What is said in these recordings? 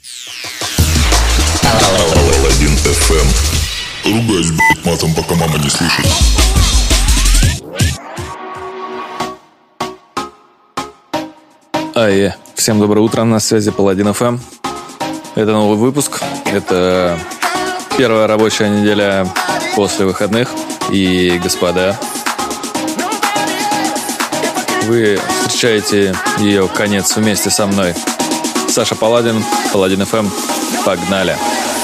Паладин FM. Ругаюсь, блять, матом, пока мама не слышит. Всем доброе утро, на связи Паладин FM. Это новый выпуск. Это первая рабочая неделя после выходных. И, господа, вы встречаете ее конец вместе со мной. Саша Паладин, Паладин FM. Погнали!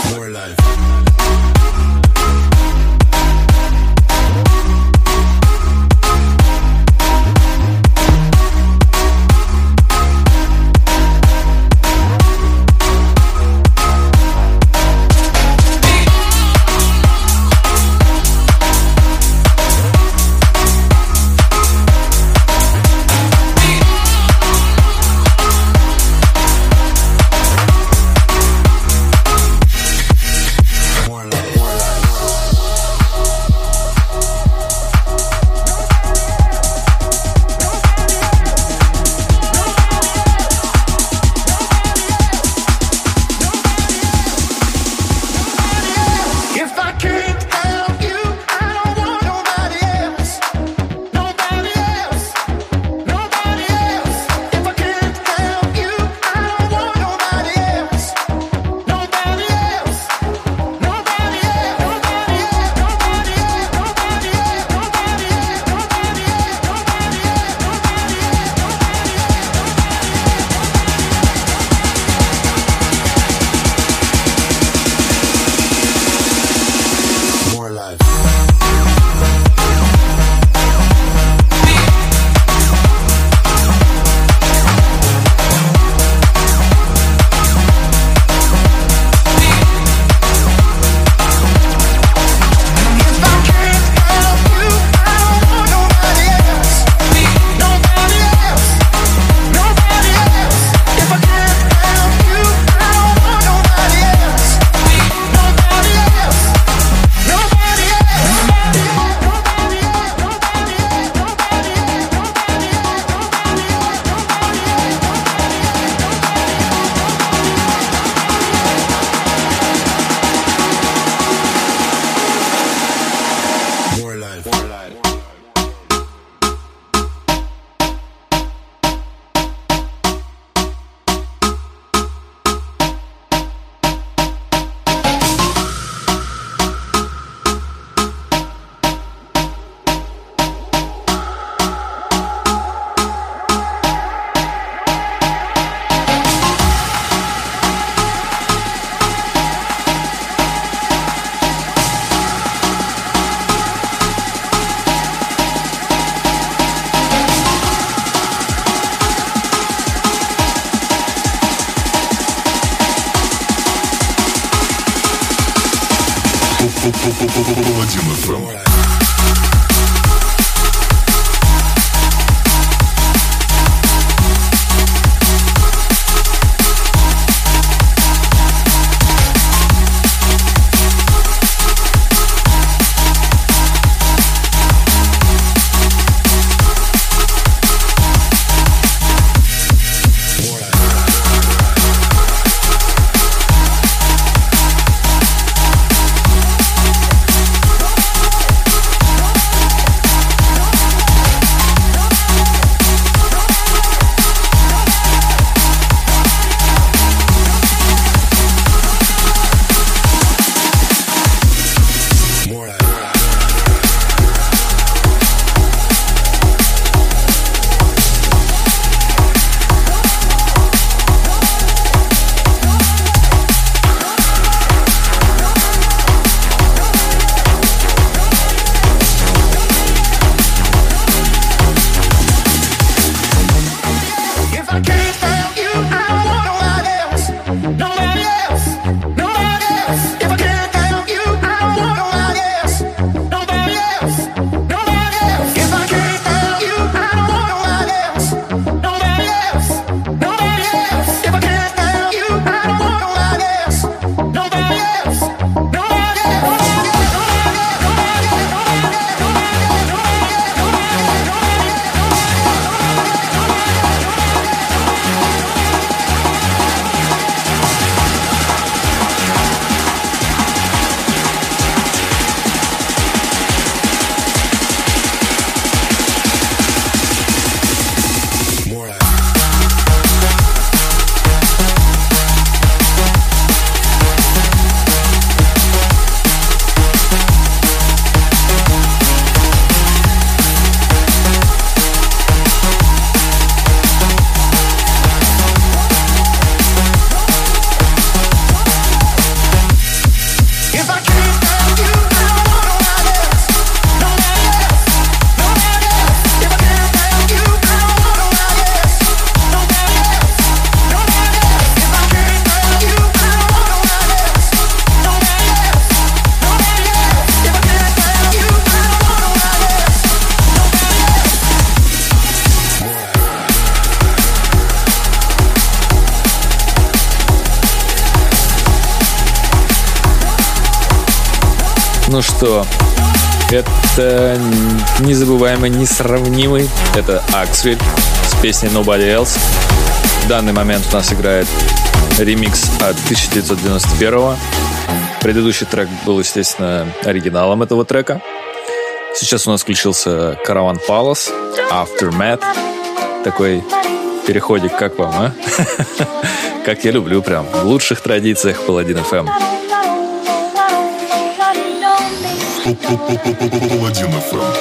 Паладин FM. Ну что, это незабываемый, несравнимый. Это Axwell с песней Nobody Else. В данный момент у нас играет ремикс от 1991-го. Предыдущий трек был, естественно, оригиналом этого трека. Сейчас у нас включился Caravan Palace, Aftermath. Такой переходик, как вам, а? Как я люблю, прям в лучших традициях Паладин FM. Паладин FM.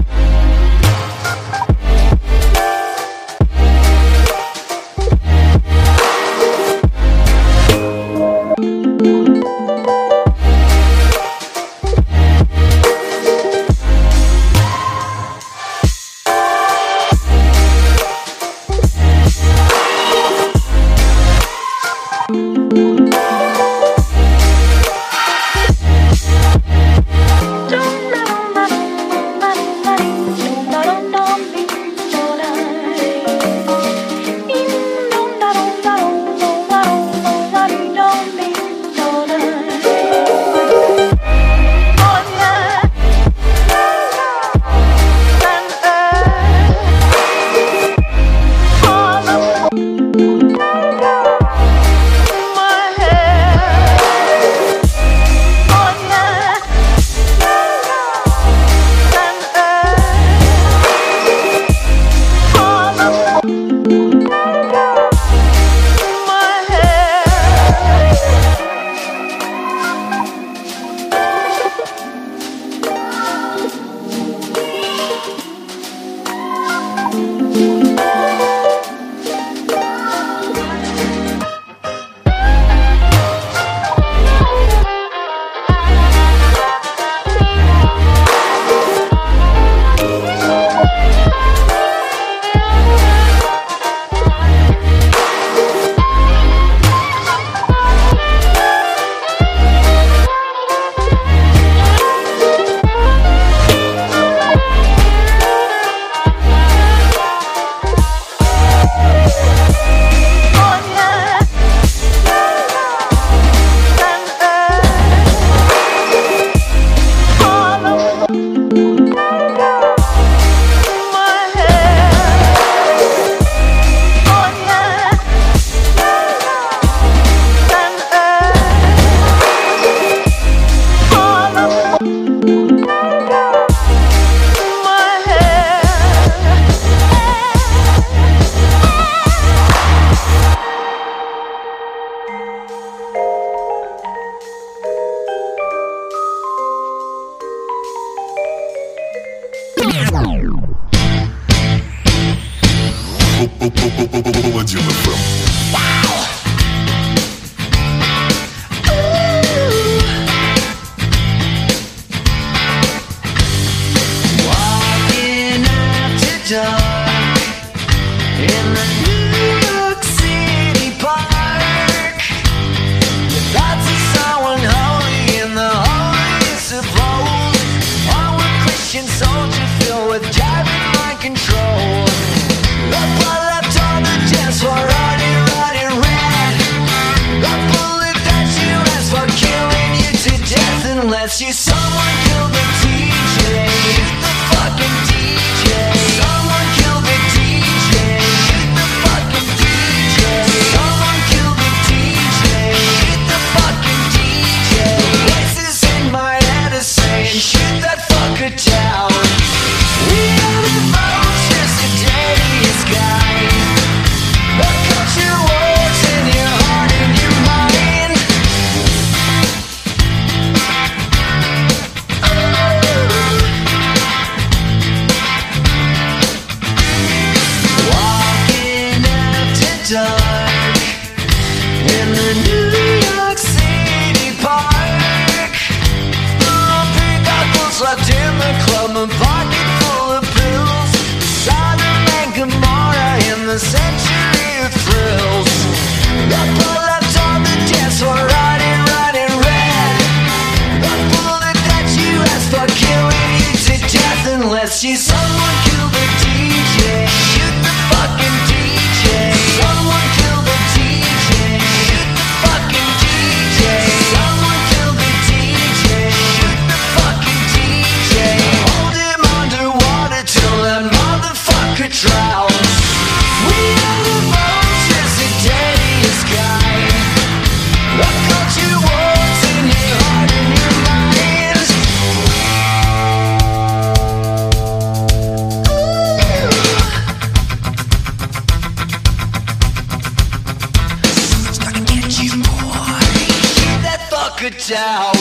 Паладин FM. Let's see someone kill the DJ. Hit the fucking DJ. Someone kill the DJ. Hit the fucking DJ. Someone kill the DJ. Hit the fucking DJ. Voices in my head are saying, shoot that fucker down. We are the vultures, the dirtiest guy. The culture wars in your heart and your mind. it out.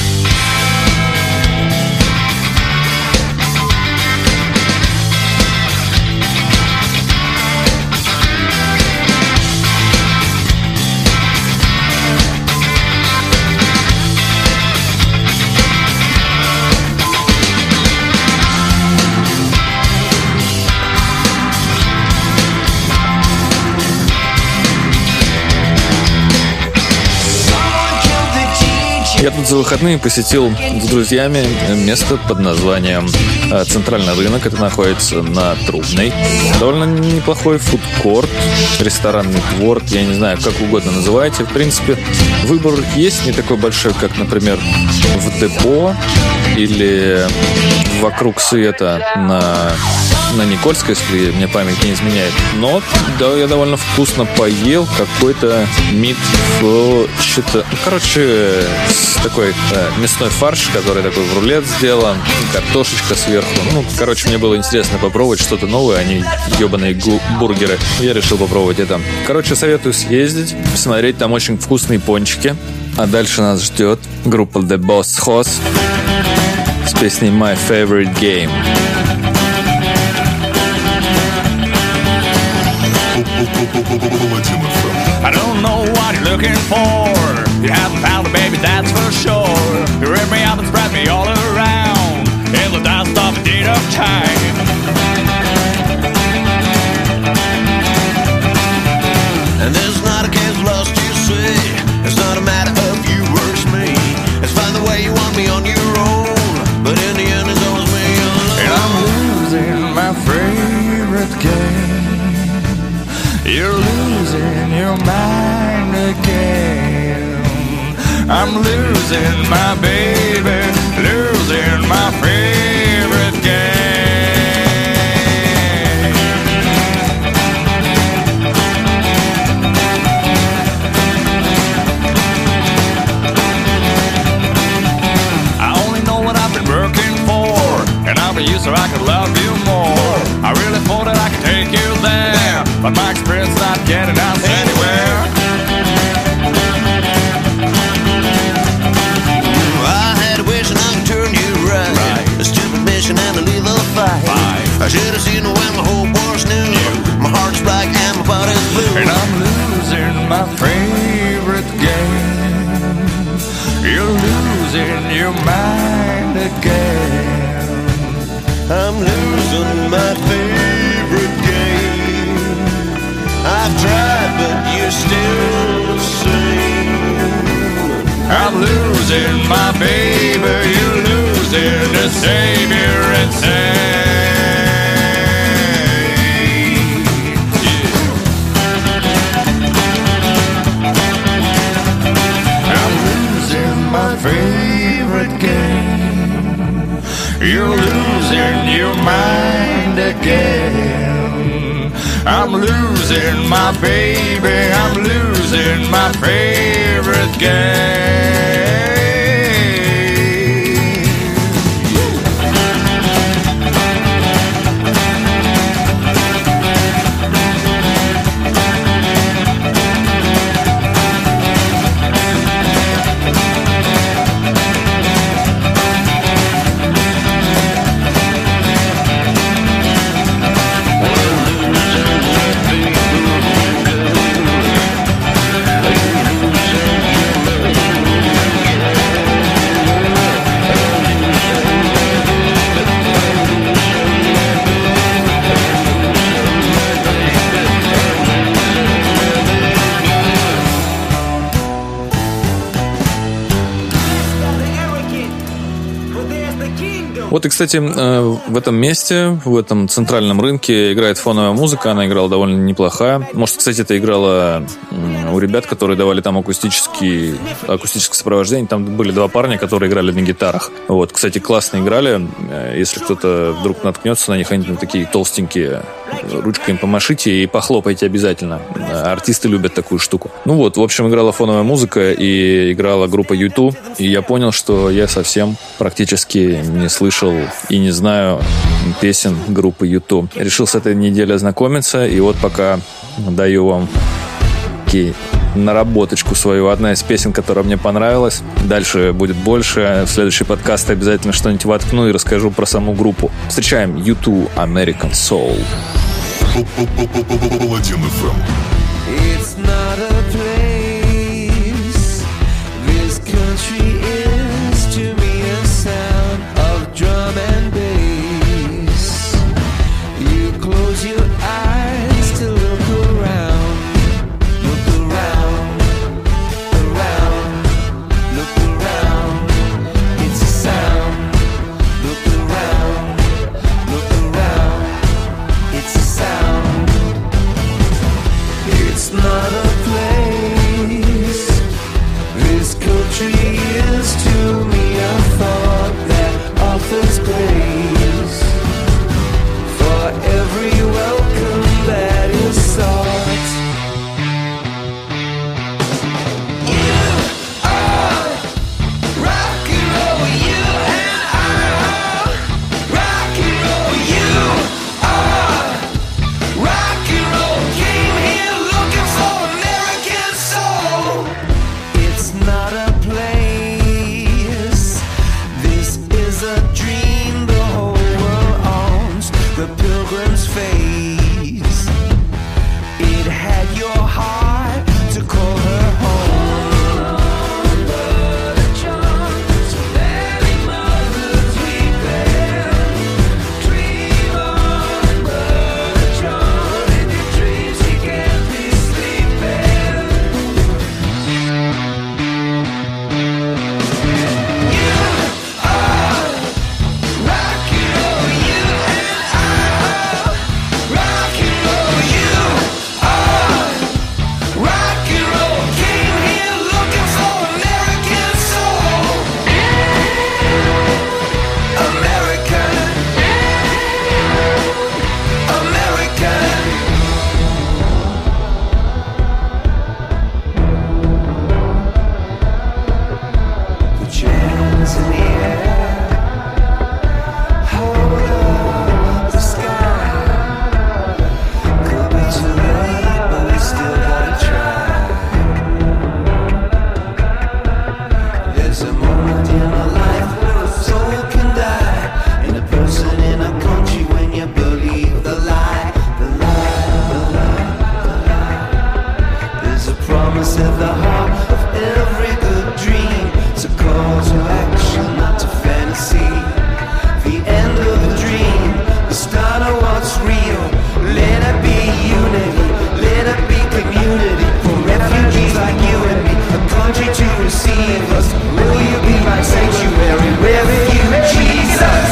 Я тут за выходные посетил с друзьями место под названием Центральный рынок. Это находится на Трубной. Довольно неплохой фудкорт, ресторанный двор, я не знаю, как угодно называйте. В принципе, выбор есть, не такой большой, как, например, в депо или вокруг света на Никольской, если мне память не изменяет. Но да, я довольно вкусно поел. Какой-то мид, что-то... Короче, такой мясной фарш, который такой в рулет сделан, картошечка сверху. Ну, короче, мне было интересно попробовать что-то новое, а не ебаные бургеры. Я решил попробовать это. Короче, советую съездить, посмотреть, там очень вкусные пончики. А дальше нас ждет группа The Boss Hoss с песней My Favorite Game. I don't know what you're looking for. You haven't found it, baby, that's for sure. You rip me up and spread me all around in the dust of a deed of time. And this is not a case of lust, you see. It's not a matter of you versus me. It's find the way you want me on your own. But in the end, it's always me alone. And I'm losing my favorite game. You're losing your mind again. I'm losing my baby, losing my favorite game. I only know what I've been working for, and I'll be used so I could love you more. I really thought that I could take you there, but my experience not getting us anywhere. I had a wish and I could turn you right. A stupid mission and a lethal fight. I should have seen it when my whole war's new. My heart's black and my body's blue. And I'm losing my favorite game. You're losing your mind again. I'm losing my favorite game. I've tried, but you're still the same. I'm losing my baby, you're losing the savior insane. I'm losing my favorite game. You're losing your mind again. I'm losing my baby, I'm losing my favorite game. Вот и, кстати, в этом месте, в этом центральном рынке играет фоновая музыка. Она играла довольно неплохая. Может, кстати, это играла у ребят, которые давали там акустическое сопровождение. Там были два парня, которые играли на гитарах. Вот, кстати, классно играли. Если кто-то вдруг наткнется на них, они там такие толстенькие. Ручкой им помашите и похлопайте обязательно. Артисты любят такую штуку. Ну вот, в общем, играла фоновая музыка и играла группа U2. И я понял, что я совсем практически не слышал и не знаю песен группы U2. Решил с этой неделей ознакомиться. И вот пока даю вам наработочку свою. Одна из песен, которая мне понравилась. Дальше будет больше. В следующий подкаст обязательно что-нибудь воткну и расскажу про саму группу. Встречаем U2 American Soul. Паладин FM. It's not a place. This country is to me a sound of drum and bass. You close your eyes to look around. Look around, around, look around. It's a sound. Look around, look around. It's a sound. It's not a place. This country is to me a thought that offers grace for every welcome that is sought. You are rock and roll, you and I. Rock and roll, you are rock and roll. Came here looking for American soul. It's not a place. This is a dream the whole world owns. The pilgrim's face. It had your heart to call her home. Dream on, Brother John. In your dreams you can't be sleeping. You are rock and roll, you and I. Rock and roll, you are rock and roll. Came here looking for American soul. American, American. Put your hands in the air. Hold up the sky. Could be too late, but we still gotta try. There's a moment in our life where a soul can die, and a person in a country when you believe the lie, the lie, the lie, the lie. There's a promise at the heart of every good dream. It's a call to action, not to fantasy. The end of the dream, the start of what's real. Let it be unity, let it be community. For refugees like you and me, a country to receive us. Will you be my sanctuary, refuge, Jesus?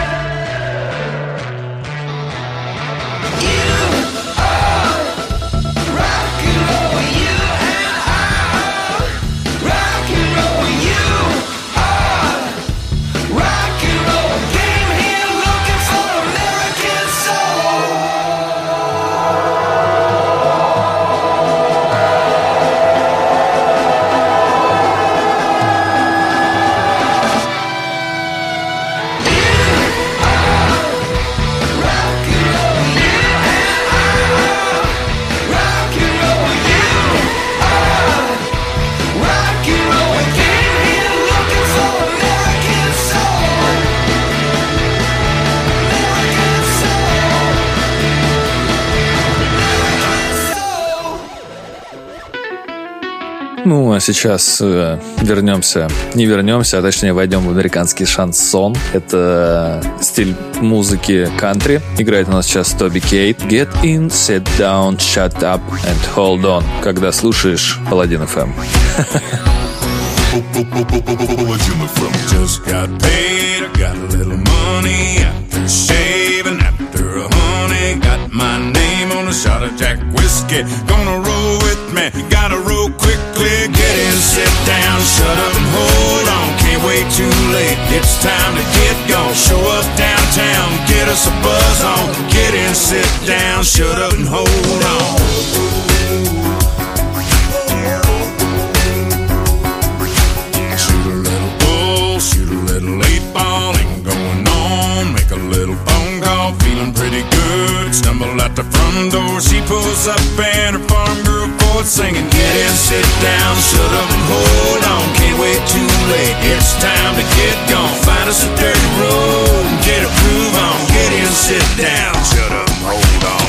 You are rock and roll, you and I. Rock and roll, you are rock and roll. Came here looking for American soul. Rock and roll, you and I. Rock and roll, you are rock and roll. Came here looking for American soul. American soul. American soul. Ну, а сейчас не вернемся, а точнее войдем в американский шансон. Это стиль музыки кантри. Играет у нас сейчас Тоби Кейт. Get in, sit down, shut up and hold on. Когда слушаешь Паладин FM. Паладин FM. Just got paid, I got a little money after shaving, after a honey. Got my name on a shot of Jack whiskey. Gonna roll with me, gotta roll quickly. Get in, sit down, shut up and hold on. Can't wait too late, it's time to get gone. Show up downtown, get us a buzz on. Get in, sit down, shut up and hold on. Shoot a little bull, shoot a little 8-ball, ain't going on. Make a little phone call, feeling pretty good. Stumble out the front door, she pulls up and her farm girl chords singing, get in, sit down, shut up and hold on. Can't wait too late, it's time to get gone. Find us a dirty road and get a groove on. Get in, sit down, shut up and hold on.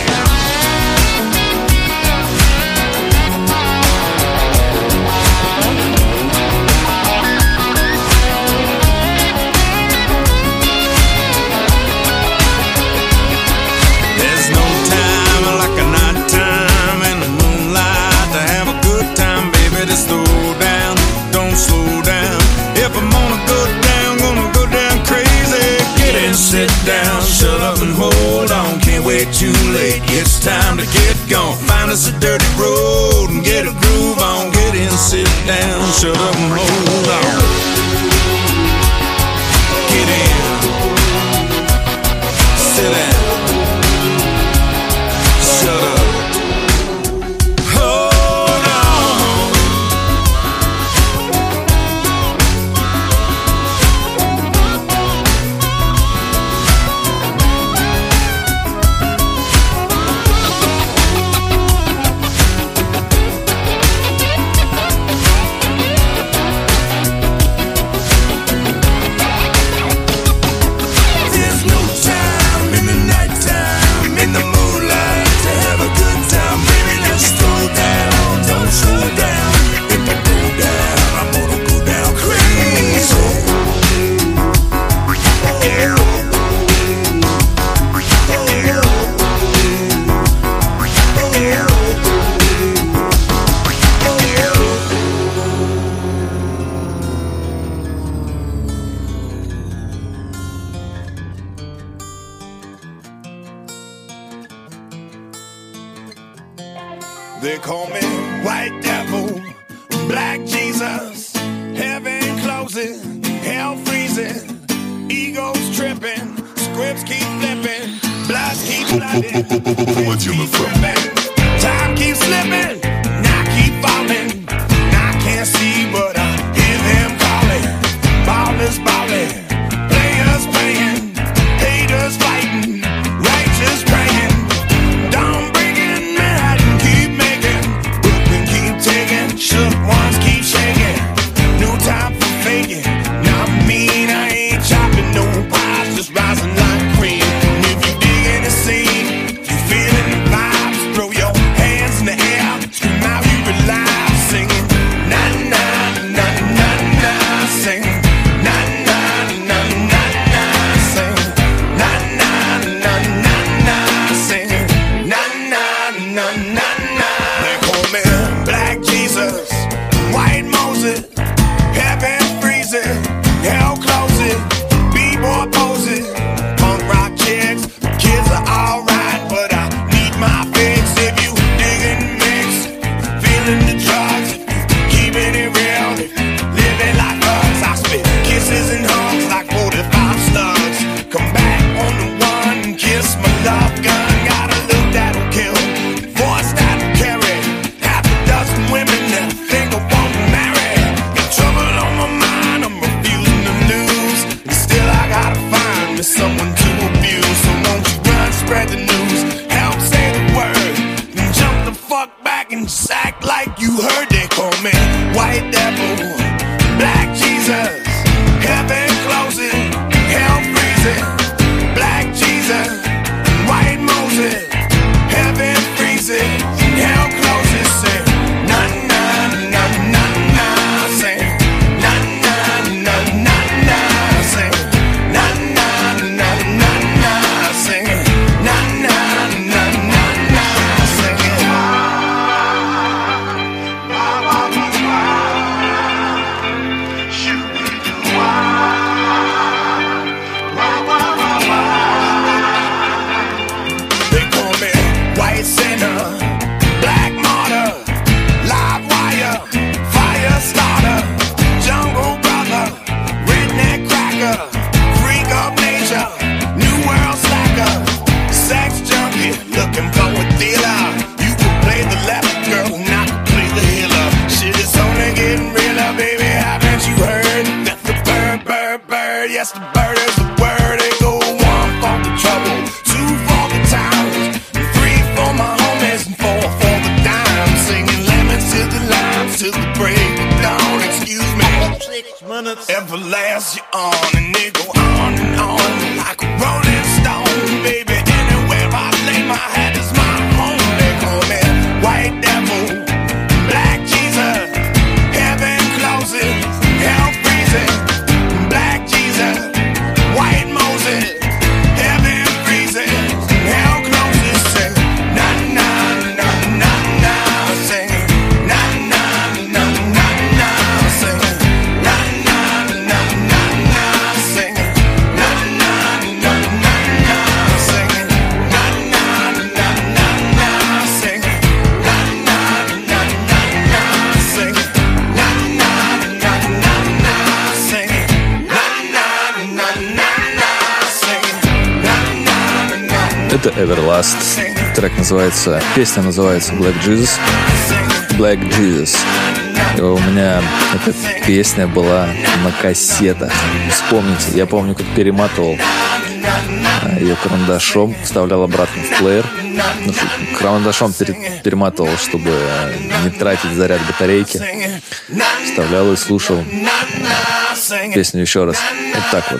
There's no time like a night time in the moonlight to have a good time, baby. To slow down, don't slow down. If I'm gonna go down crazy. Get in, sit down, shut up and hold on. Can't wait too late, it's time to get gone. Find us a dirty road and get a groove on. Get in, sit down, shut up and hold on. Get in, sit down. Shut up. Hold on. There's no time in the nighttime, in the moonlight to have a good time. Baby, just slow down, don't slow down. If I go down, I'm gonna go down crazy. They call me White Devil, Black Jesus, heaven closing, hell freezing, egos tripping, scripts keep flipping, bloods keep flooding, Паладин FM. tripping. Time keeps slipping, and I keep falling. And I can't see, but I hear them calling. Ballers balling, players playing, haters fighting, righteous praying. Don't bring it mad and keep making, Brooklyn keep taking, shook ones keep shaking. No time for faking. Not mean, I ain't chopping no pies, just rising like cream. And if you dig in the scene, if you feeling the vibes, throw your hands in the air. Everlast you on and they go on and on like a rolling stone, baby. Anywhere I lay my head is my home. They call me White Devil, Black Jesus, heaven closes, hell freezes. Black Jesus, White Moses, heaven freezes, hell closes. Say na na na na na, say na na na na na, say na na na na na, say na na na na na, say na na na na na, say na na na na na, say na na na na na, say na na na na na, say na na na. Это Everlast. Трек называется, песня называется Black Jesus. Black Jesus. И у меня эта песня была на кассетах. Вспомните, я помню, как перематывал ее карандашом, вставлял обратно в плеер. Ну, карандашом перематывал, чтобы не тратить заряд батарейки. Вставлял и слушал песню еще раз. Вот так вот.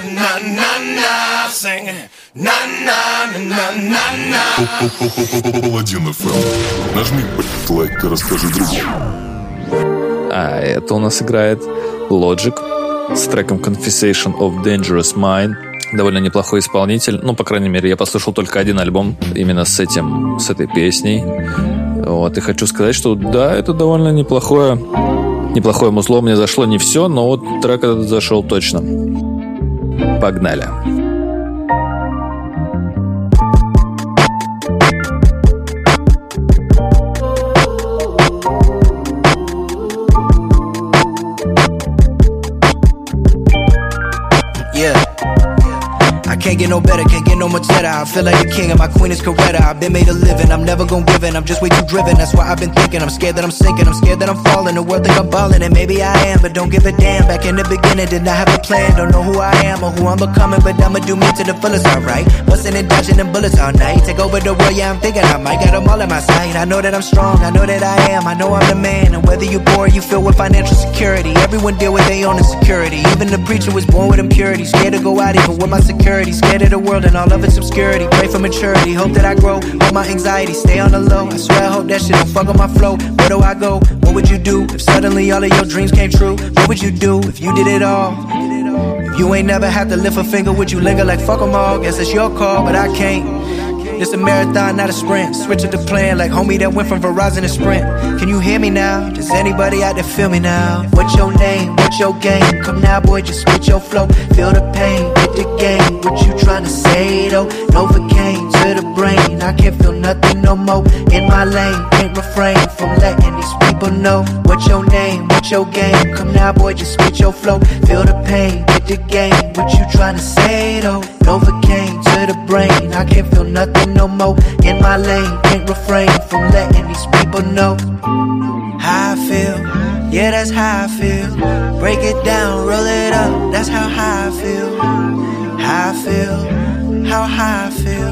Паладин FM. Нажми лайк и расскажи другу. А это у нас играет Logic с треком Confessation of Dangerous Mind. Довольно неплохой исполнитель. Ну, по крайней мере, я послушал только один альбом именно с этой песней. Вот, и хочу сказать, что да, это довольно неплохое музло. Мне зашло не все, но вот трек этот зашел точно. Погнали. Can't get no better, can't get no much better. I feel like the king and my queen is Coretta. I've been made a living, I'm never gonna give in. I'm just way too driven, that's why I've been thinking. I'm scared that I'm sinking, I'm scared that I'm falling. The world think I'm balling, and maybe I am, but don't give a damn. Back in the beginning, did not have a plan. Don't know who I am or who I'm becoming, but I'ma do me to the fullest, alright. Bustin' and dodging them bullets all night. Take over the world, yeah, I'm thinking I might. Got them all in my sight. I know that I'm strong, I know that I am. I know I'm the man, and whether you poor or you filled with financial security, everyone deal with their own insecurity. Even the preacher was born with impurity. Scared to go out even with my security. Scared of the world and all of its obscurity. Pray for maturity, hope that I grow. Hold my anxiety, stay on the low. I swear I hope that shit don't fuck up my flow. Where do I go? What would you do if suddenly all of your dreams came true? What would you do if you did it all? If you ain't never had to lift a finger, would you linger like fuck 'em all? Guess it's your call, but I can't. It's a marathon, not a sprint. Switch up the plan like homie that went from Verizon to Sprint. Can you hear me now? Does anybody out there feel me now? What's your name? What's your game? Come now, boy, just spit your flow. Feel the pain, hit the game. What you tryna say though? Novocaine to the brain. I can't feel nothing no more. In my lane, can't refrain from letting these people know. What's your name? What's your game? Come now, boy, just spit your flow. Feel the pain, hit the game. What you tryna say though? Novocaine to the brain. I can't feel nothing no more. In my lane, can't refrain from letting these people know how I feel. Yeah, that's how I feel. Break it down, roll it up. That's how high I feel. How I feel. How high I feel.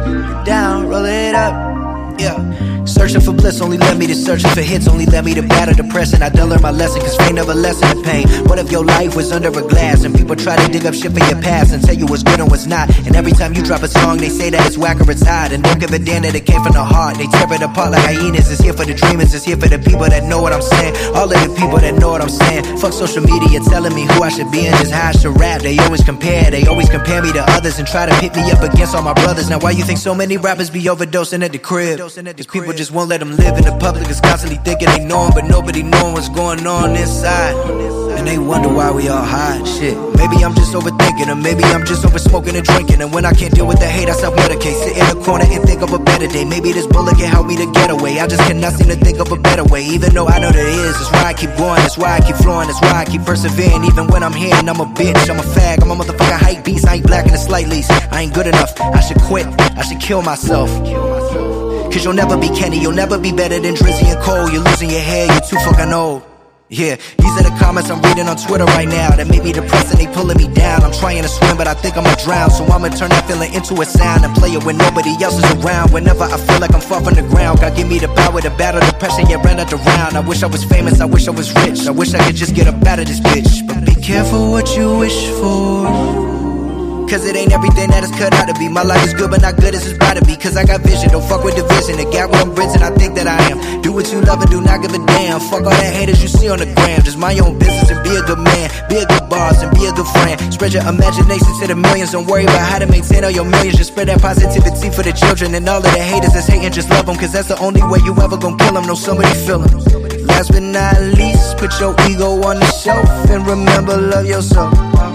Down, roll it up. Yeah. Searching for bliss only led me to searching for hits. Only led me to battle depression. I done learned my lesson, cause fame never lessen the pain. What if your life was under a glass and people try to dig up shit for your past and tell you what's good and what's not? And every time you drop a song they say that it's whack or it's hot, and don't give a damn that it came from the heart. They tear it apart like hyenas. It's here for the dreamers, it's here for the people that know what I'm saying. All of the people that know what I'm saying. Fuck social media telling me who I should be and just how I should rap. They always compare me to others and try to pit me up against all my brothers. Now why you think so many rappers be overdosing at the crib? These people just won't let them live in the public. Is constantly thinking they know 'em, but nobody knowing what's going on inside. And they wonder why we all hide. Shit, maybe I'm just overthinking, or maybe I'm just over smoking and drinking. And when I can't deal with the hate, I self-medicate. Sit in a corner and think of a better day. Maybe this bullet can help me to get away. I just cannot seem to think of a better way. Even though I know there is, that's why I keep going, that's why I keep flowing, that's why I keep persevering. Even when I'm here and I'm a bitch, I'm a fag, I'm a motherfucking hype beast. I ain't black in the slight least, I ain't good enough, I should quit, I should kill myself. Cause you'll never be Kenny, you'll never be better than Drizzy and Cole. You're losing your hair, you're too fucking old. Yeah, these are the comments I'm reading on Twitter right now that made me depressed and they pulling me down. I'm trying to swim, but I think I'ma drown. So I'ma turn that feeling into a sound and play it when nobody else is around. Whenever I feel like I'm far from the ground, God give me the power to battle depression, yeah, ran out the round. I wish I was famous, I wish I was rich, I wish I could just get up out of this bitch. But be careful what you wish for, cause it ain't everything that it's cut out to be. My life is good, but not good as it's about to be. Cause I got vision, don't fuck with division. The gap where I'm bridging, I think that I am. Do what you love and do not give a damn. Fuck all that haters you see on the gram. Just mind your own business and be a good man. Be a good boss and be a good friend. Spread your imagination to the millions. Don't worry about how to maintain all your millions. Just spread that positivity for the children. And all of the haters that's hating, just love them. Cause that's the only way you ever gon' kill them. Know somebody feel them. Last but not least, put your ego on the shelf and remember, love yourself.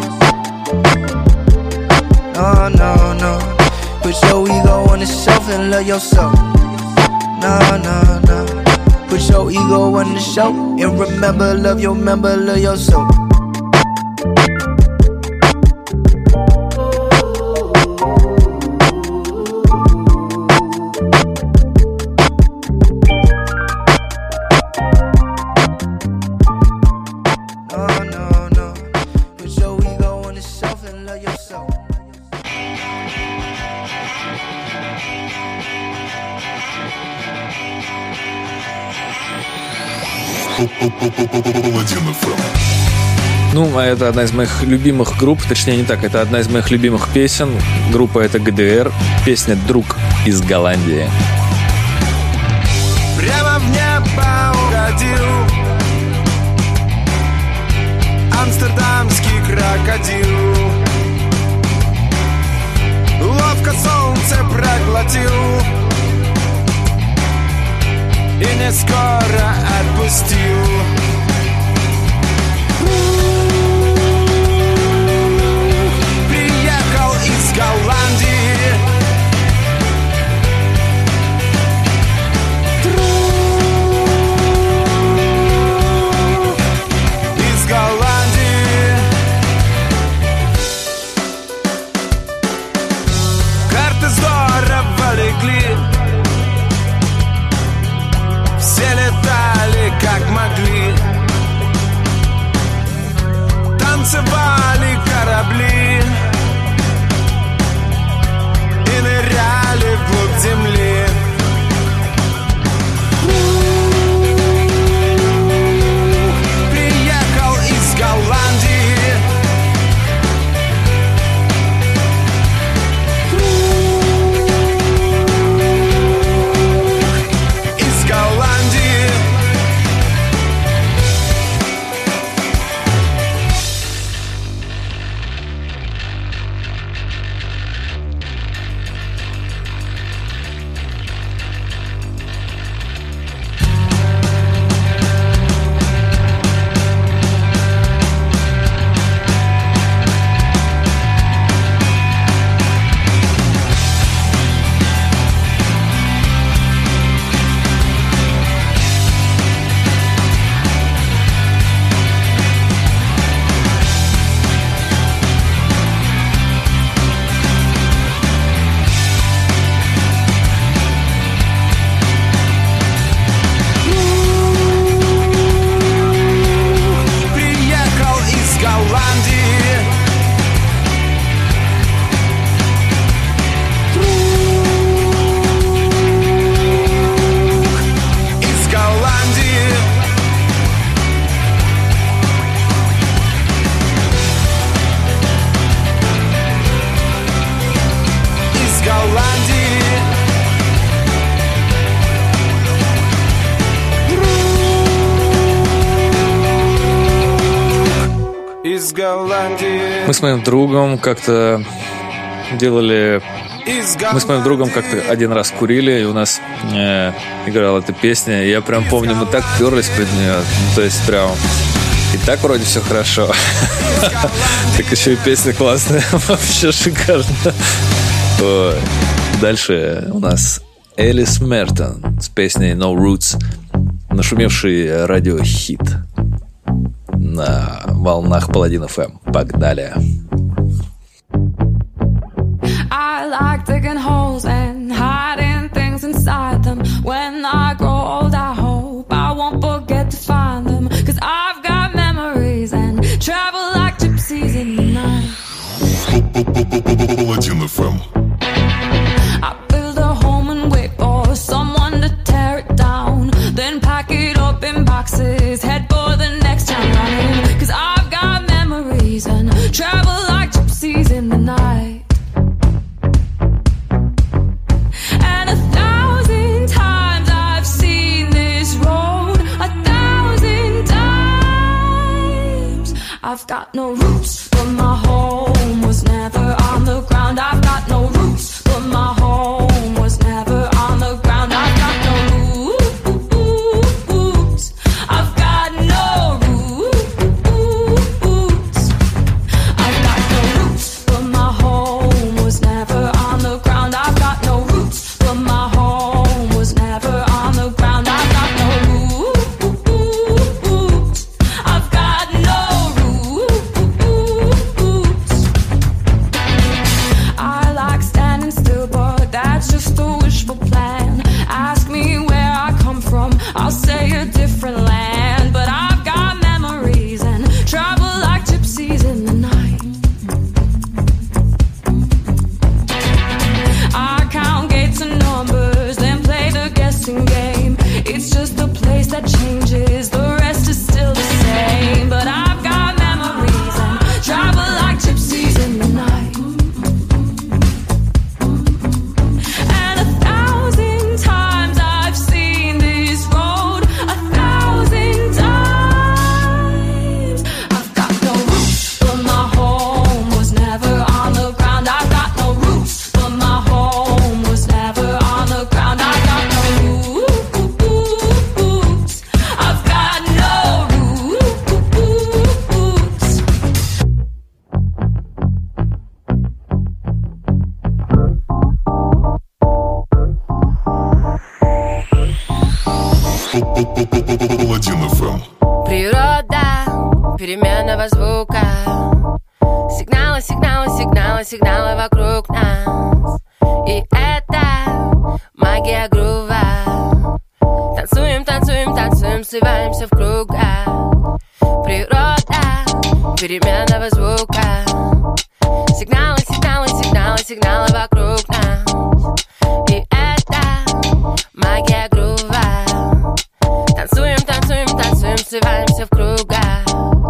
No, no, no. Put your ego on the shelf and love yourself. No, no, no. Put your ego on the shelf and remember, love your member, love yourself. No, no, no. Put your ego on the shelf and love yourself. Паладин FM. Ну, а это одна из моих любимых групп, точнее не так, это одна из моих любимых песен. Группа это ГДР, песня «Друг из Голландии». Прямо в небо угодил амстердамский крокодил. Ловко солнце проглотил и не скоро отпустил. Приехал из Голландии. Из Голландии. Карты здорово легли. Все летали как могли. Танцевали корабли и ныряли вглубь земли. Приехал из Голландии. Из Голландии. Приехал из Голландии. Из Голландии. Из Голландии. Из Голландии. Мы с моим другом как-то делали... Из Мы с моим другом как-то один раз курили, и у нас играла эта песня. И я прям помню, мы так перлись под нее. Ну, то есть прям... И так вроде все хорошо. Так еще и песня классная. Вообще шикарно. Ой. Дальше у нас Элис Мертон с песней No Roots. Нашумевший радиохит на волнах Паладин FM. Погнали. I like digging holes and hiding things inside them. When I grow old, I hope I won't forget to find them. 'Cause I've I've got no roots, but my home was never on the ground. I've got no roots, but my home was never on the ground. I've got no roots. I've got no roots. I've got no roots, but my home was never on the ground. I've got no roots, but my home was never on the ground. I've got no roots. I've got no roots. I like standing still, but that's just a wishful plan. Ask me where I come from, I'll say a different land. But I've got memories and travel like gypsies in the night. I count gates and numbers, then play the guessing game. It's just a place that changes, the rest is still the same. But I've got memories and travel like gypsies in the night. And 1,000 times I've seen this road, 1,000 times. I've got no roots, but my home was never on the ground. I've got no roots, but my home was never on the ground. I've got no roots. I've got no roots. Паладин FM. Природа переменного звука. Сигналы, сигналы, сигналы, сигналы вокруг нас. И это магия грува. Танцуем, танцуем, танцуем, сливаемся в кругах. Природа переменного звука. Сигналы, сигналы, сигналы, сигналы вокруг нас. И это магия грува. Танцуем, танцуем, танцуем, сливаемся в кругах.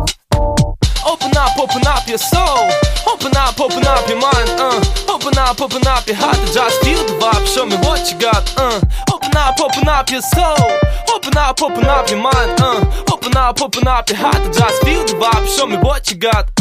Open up your soul. Open up your mind. Open up your heart. Just feel the vibe. Show me what you got. Open up your soul. Open up your mind. Open up your heart. Just feel the vibe. Show me what you got.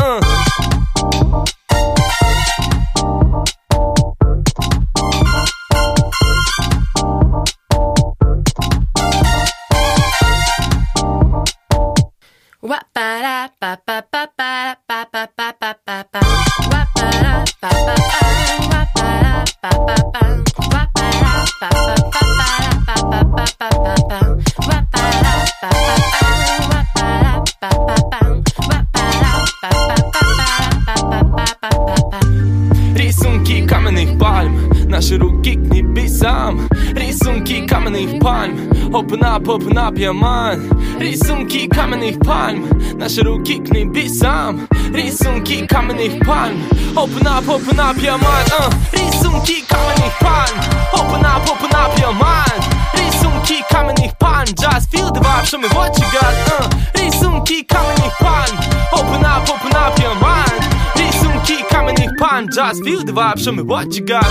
Рисунки каменных пальм, наши руки к небесам. Рисунки каменных пальм, open up your mind. Рисунки каменных пальм, наши руки к небесам. Рисунки каменных пальм, open up your mind. Рисунки каменных пальм, open up your mind. Рисунки каменных пальм, just feel the vibe, show me what you got. Рисунки каменных пальм, open up your mind. Рисунки каменных пальм, just feel the vibe, show me what you got.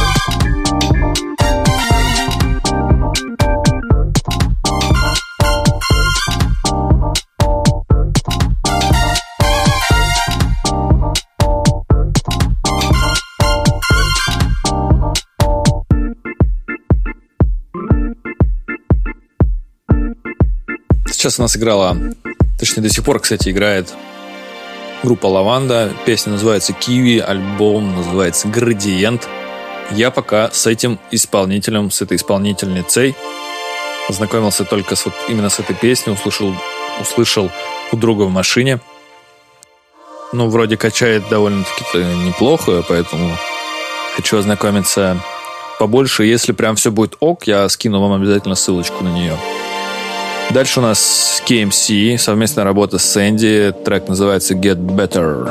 Сейчас у нас играла, точнее до сих пор, кстати, играет группа «Лаванда». Песня называется «Киви», альбом называется «Градиент». Я пока с этим исполнителем, с этой исполнительницей познакомился только именно с этой песней, услышал у друга в машине. Ну, вроде качает довольно-таки неплохо, поэтому хочу ознакомиться побольше. Если прям все будет ок, я скину вам обязательно ссылочку на нее. Дальше у нас KMC, совместная работа с Сэнди. Трек называется Get Better.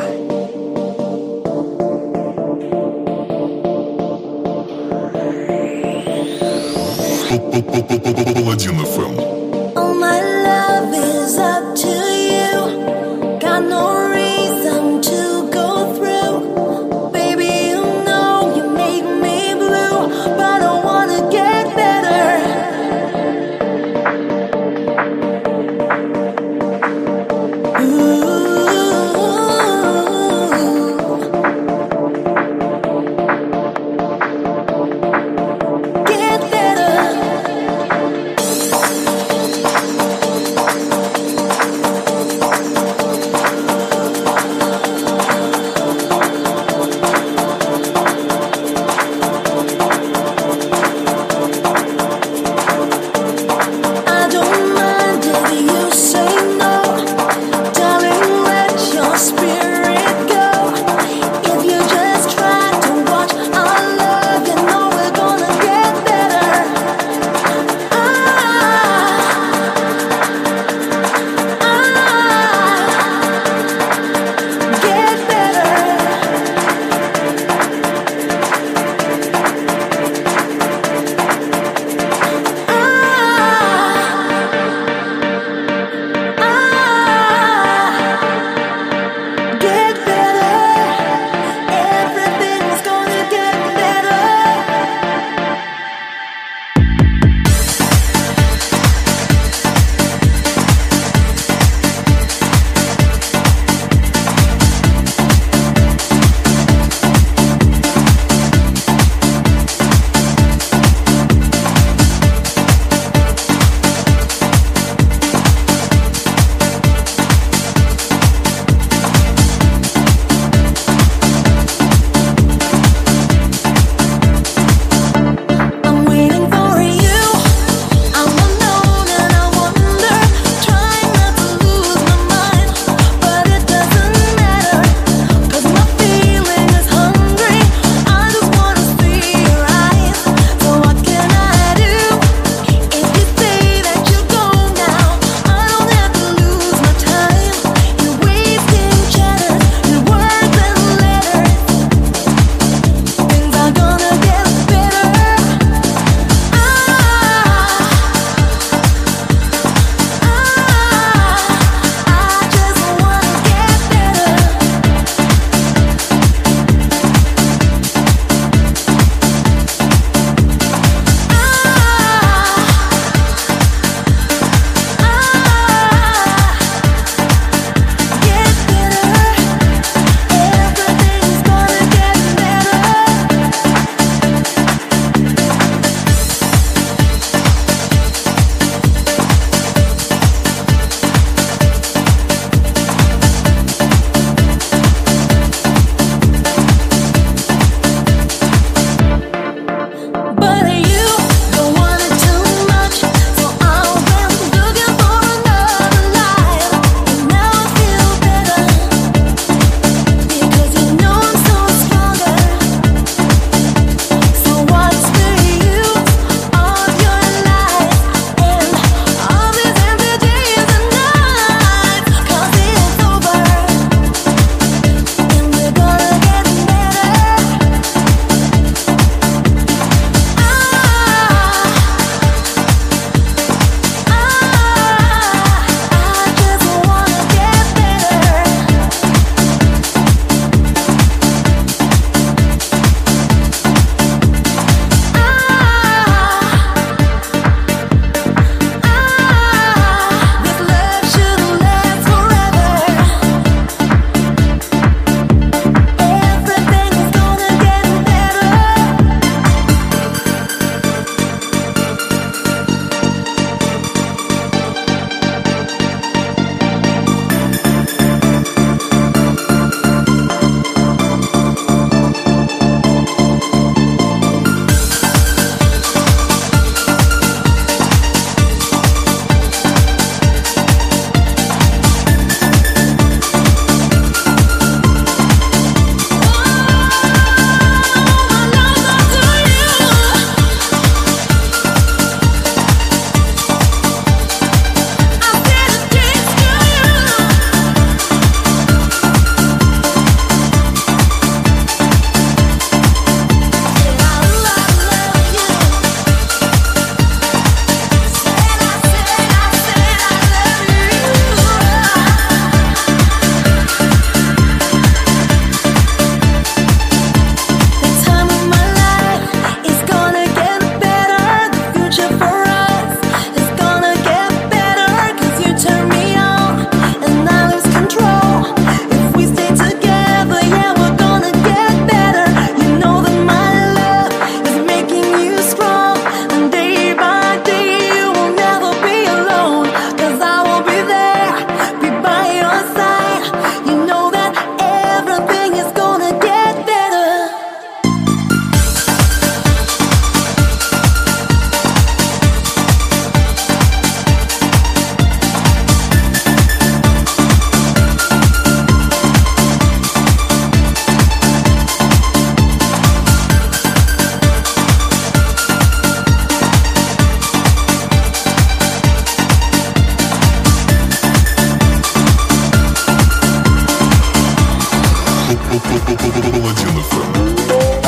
Паладин FM. All my love is up to you. Got no reason to go through. Baby, you know you make me blue, but I wanna get better. Ooh. Паладин FM.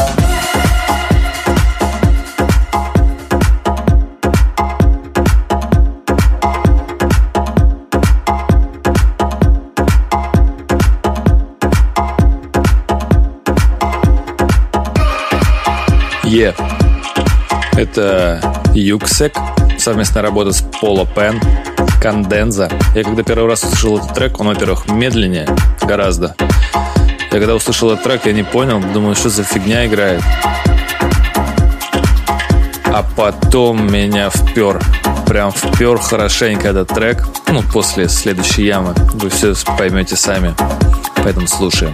Это Юксек, совместная работа с Поло Пен, Конденза. Я когда первый раз услышал этот трек, он, во-первых, медленнее гораздо. Я когда услышал этот трек, я не понял, думаю, что за фигня играет. А потом меня впер, прям впер хорошенько этот трек. Ну, после следующей ямы. Вы все поймете сами. Поэтому слушаем.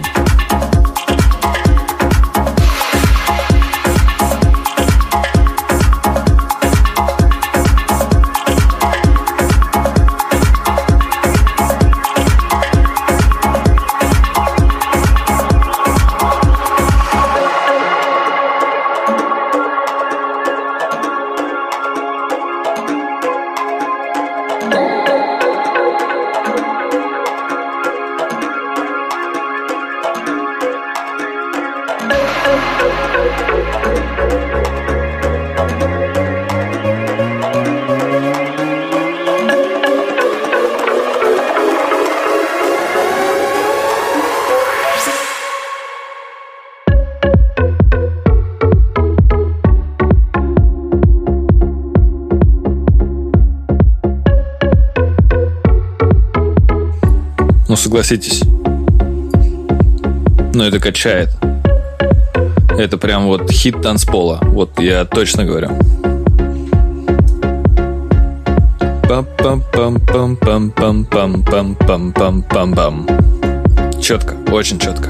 Ну, согласитесь. Но это качает. Это прям вот хит танцпола. Вот я точно говорю. Пам-пам-пам-пам-пам-пам-пам-пам-пам-пам. Четко, очень четко.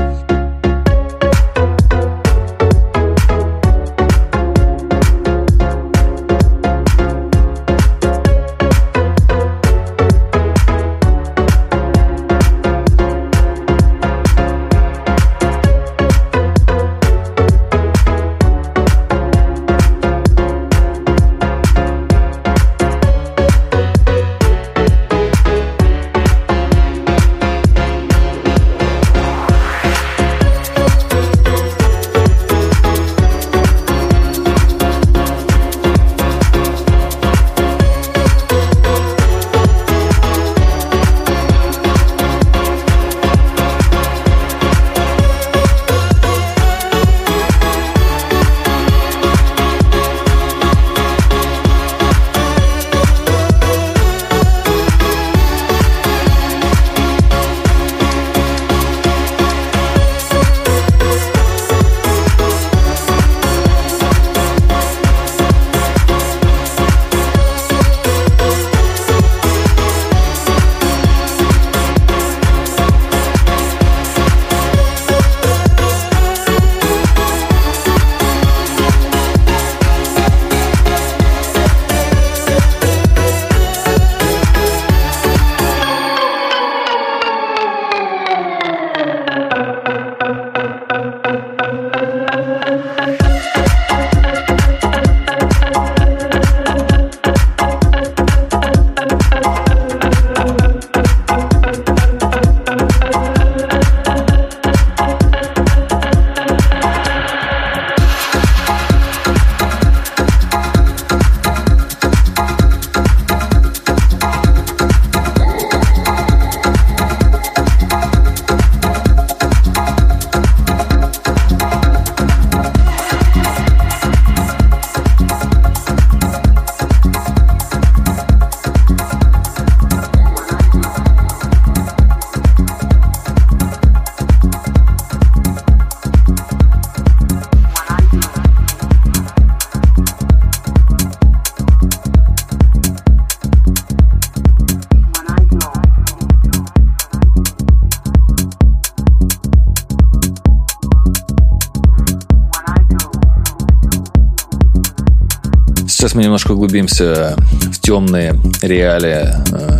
Сейчас мы немножко углубимся в темные реалии,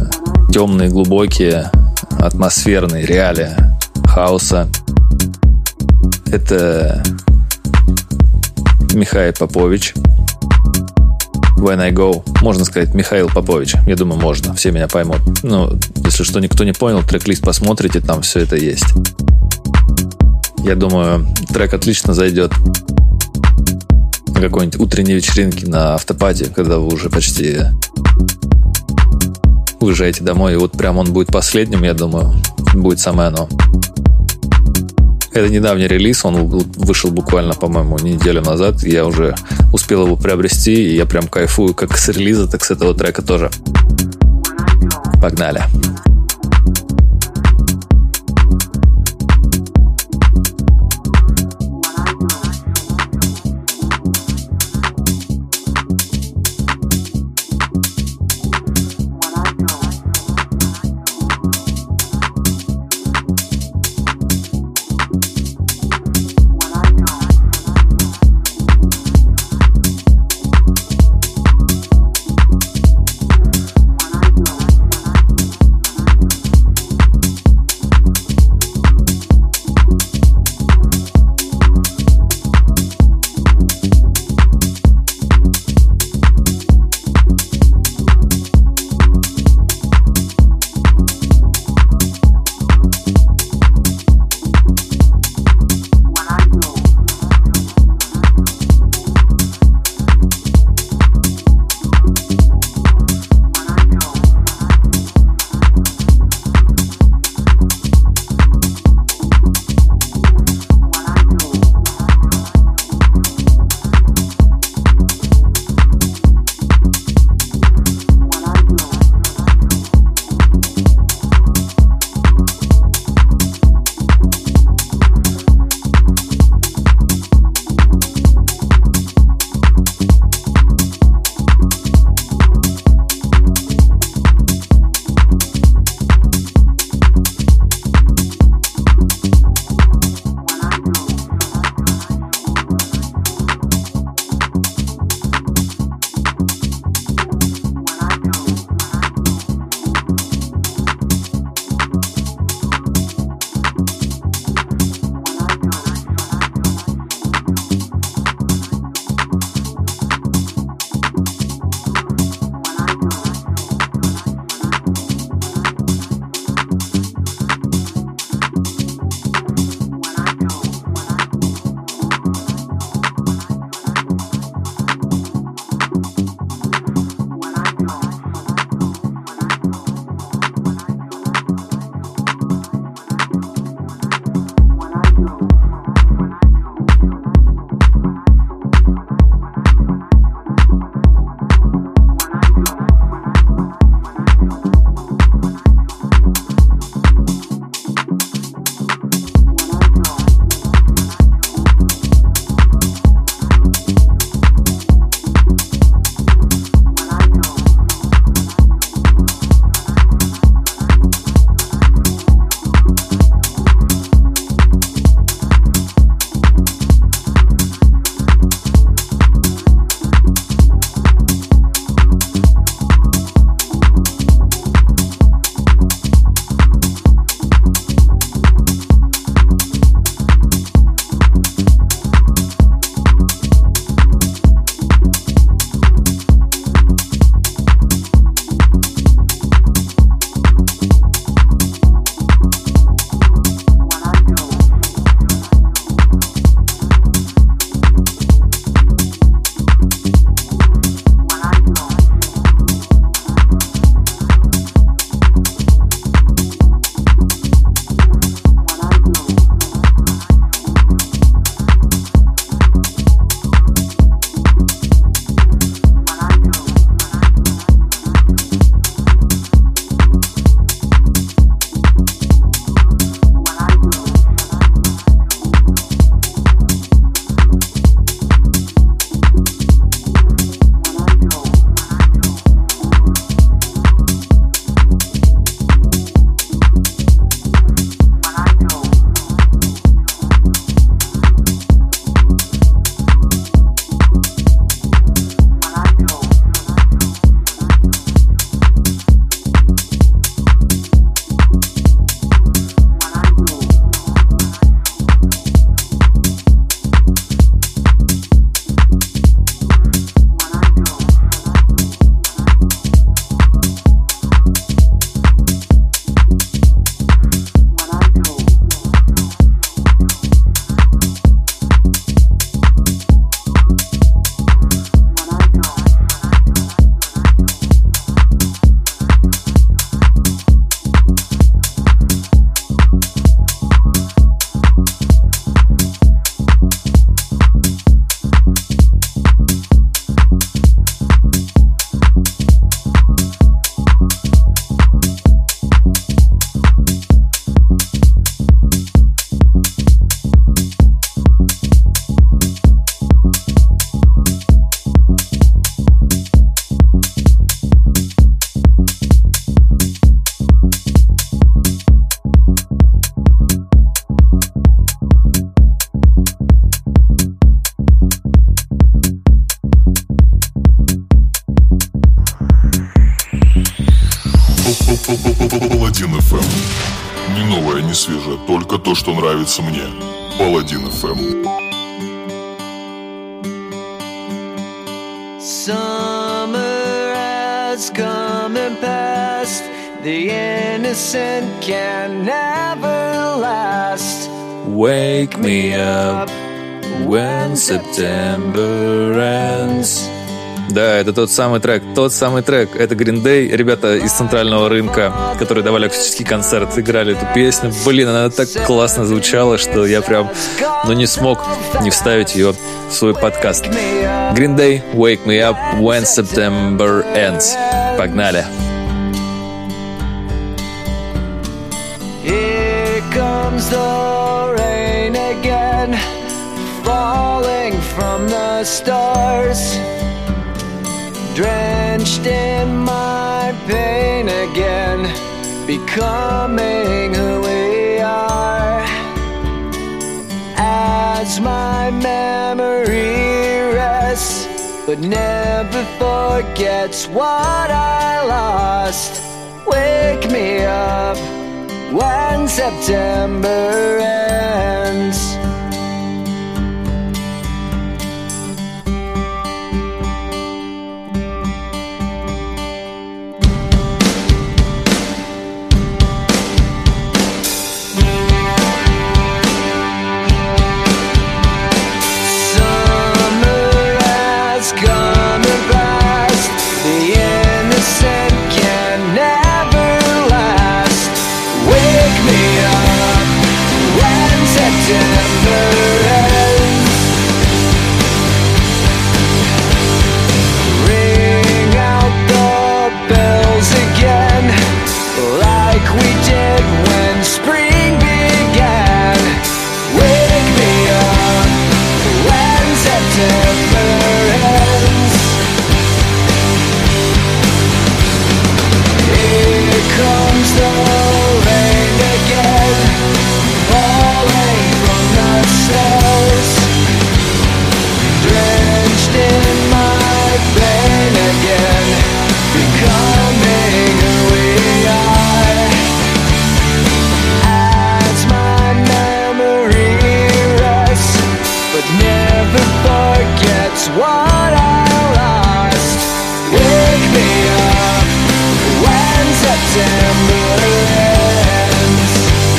темные, глубокие, атмосферные реалии хауса. Это Михаил Попович. When I Go. Можно сказать Михаил Попович. Я думаю, можно. Все меня поймут. Ну, если что, никто не понял, трек-лист посмотрите, там все это есть. Я думаю, трек отлично зайдет на какой-нибудь утренней вечеринке на автопате, когда вы уже почти уезжаете домой. И вот прям он будет последним, я думаю, будет самое оно. Это недавний релиз, он вышел буквально, по-моему, неделю назад. Я уже успел его приобрести, и я прям кайфую как с релиза, так с этого трека тоже. Погнали. свежее, только то, что нравится мне. Паладин FM. Summer has come and passed. The innocent can never last. Wake me up when September ends. Да, это тот самый трек. Это Green Day, ребята из Центрального рынка, которые давали акустический концерт, играли эту песню. Блин, она так классно звучала, что я прям, не смог не вставить ее в свой подкаст. Green Day, Wake Me Up When September Ends. Погнали. Here comes the rain again, falling from the stars. Drenched in my pain again, becoming who we are. As my memory rests, but never forgets what I lost. Wake me up when September ends. Ring out the bells again, like we did when spring began. Wake me up when September ends. Here comes the rain again, falling from the stars, drenched in my pain again, becoming who we are. As my memory rests, but never forgets what I lost. Wake me up when September ends.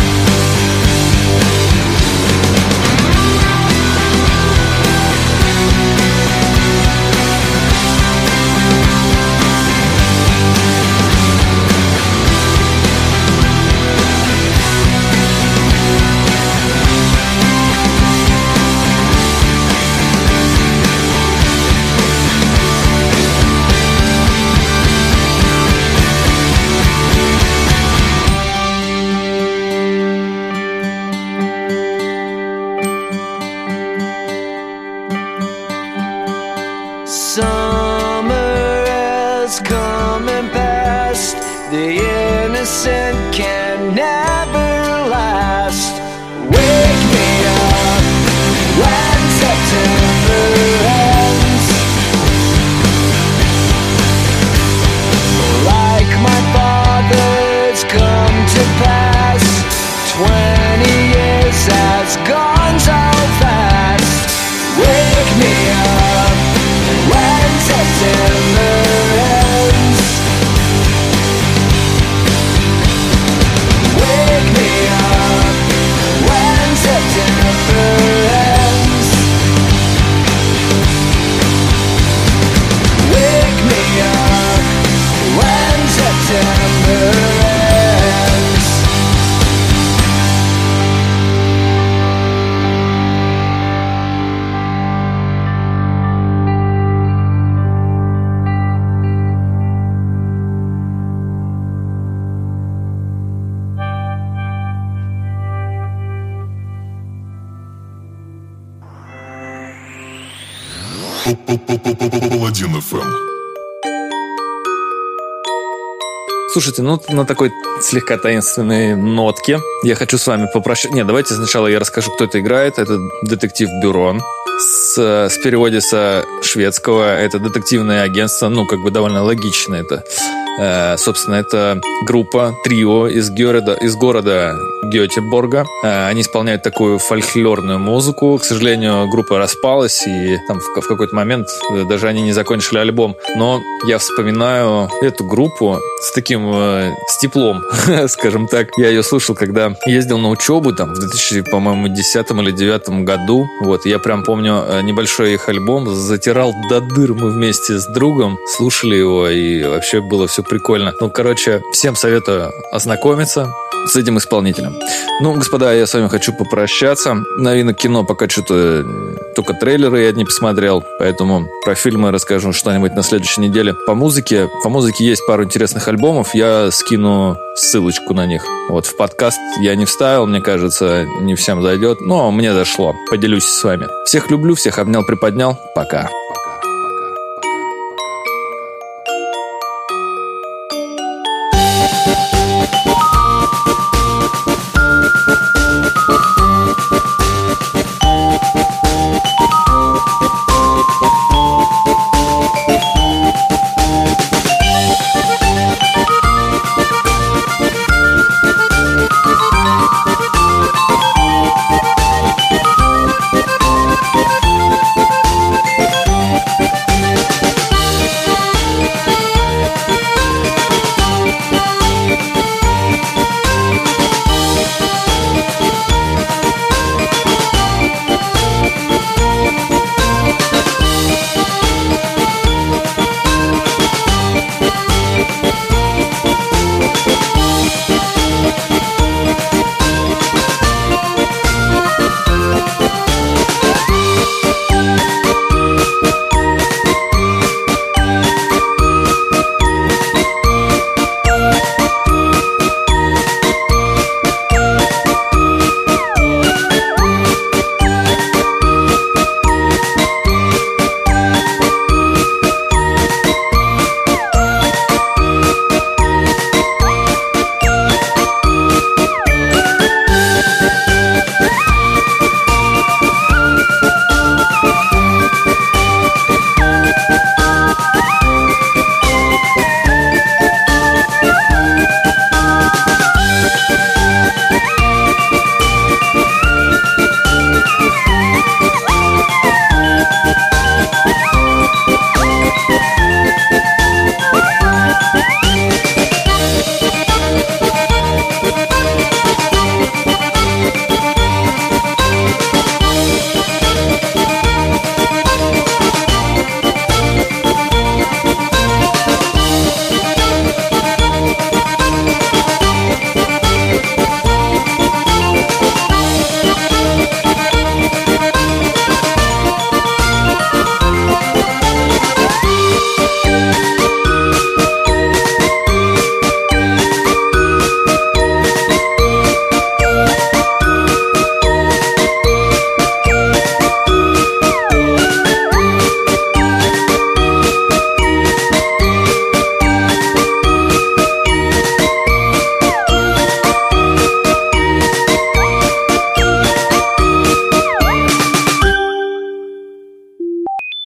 Summer has come and passed. The innocent can never last. Wake me up when September ends. Like my father's come to pass, 20 years has gone so fast. Wake me up when September ends. Wake me up when September ends. Wake me up when September ends. Паладин FM. Слушайте, на такой слегка таинственной нотке я хочу с вами попрощаться. Нет, давайте сначала я расскажу, кто это играет. Это детектив Бюрон. С переводе со шведского это детективное агентство. Довольно логично это. Собственно, это группа, трио из города Гетеборга. Они исполняют такую фольклорную музыку. К сожалению, группа распалась, и там в какой-то момент даже они не закончили альбом. Но я вспоминаю эту группу с таким, с теплом, скажем так. Я ее слушал, когда ездил на учебу, там, в 2010 или 2009 году. Вот, я прям помню небольшой их альбом, затирал до дыр. Мы вместе с другом слушали его, и вообще было все прикольно. Ну, короче, всем советую ознакомиться с этим исполнителем. Ну, господа, я с вами хочу попрощаться. Новинок кино пока что-то только трейлеры я не посмотрел, поэтому про фильмы расскажу что-нибудь на следующей неделе. По музыке есть пару интересных альбомов, я скину ссылочку на них. Вот в подкаст я не вставил, мне кажется, не всем зайдет, но мне зашло. Поделюсь с вами. Всех люблю, всех обнял, приподнял. Пока.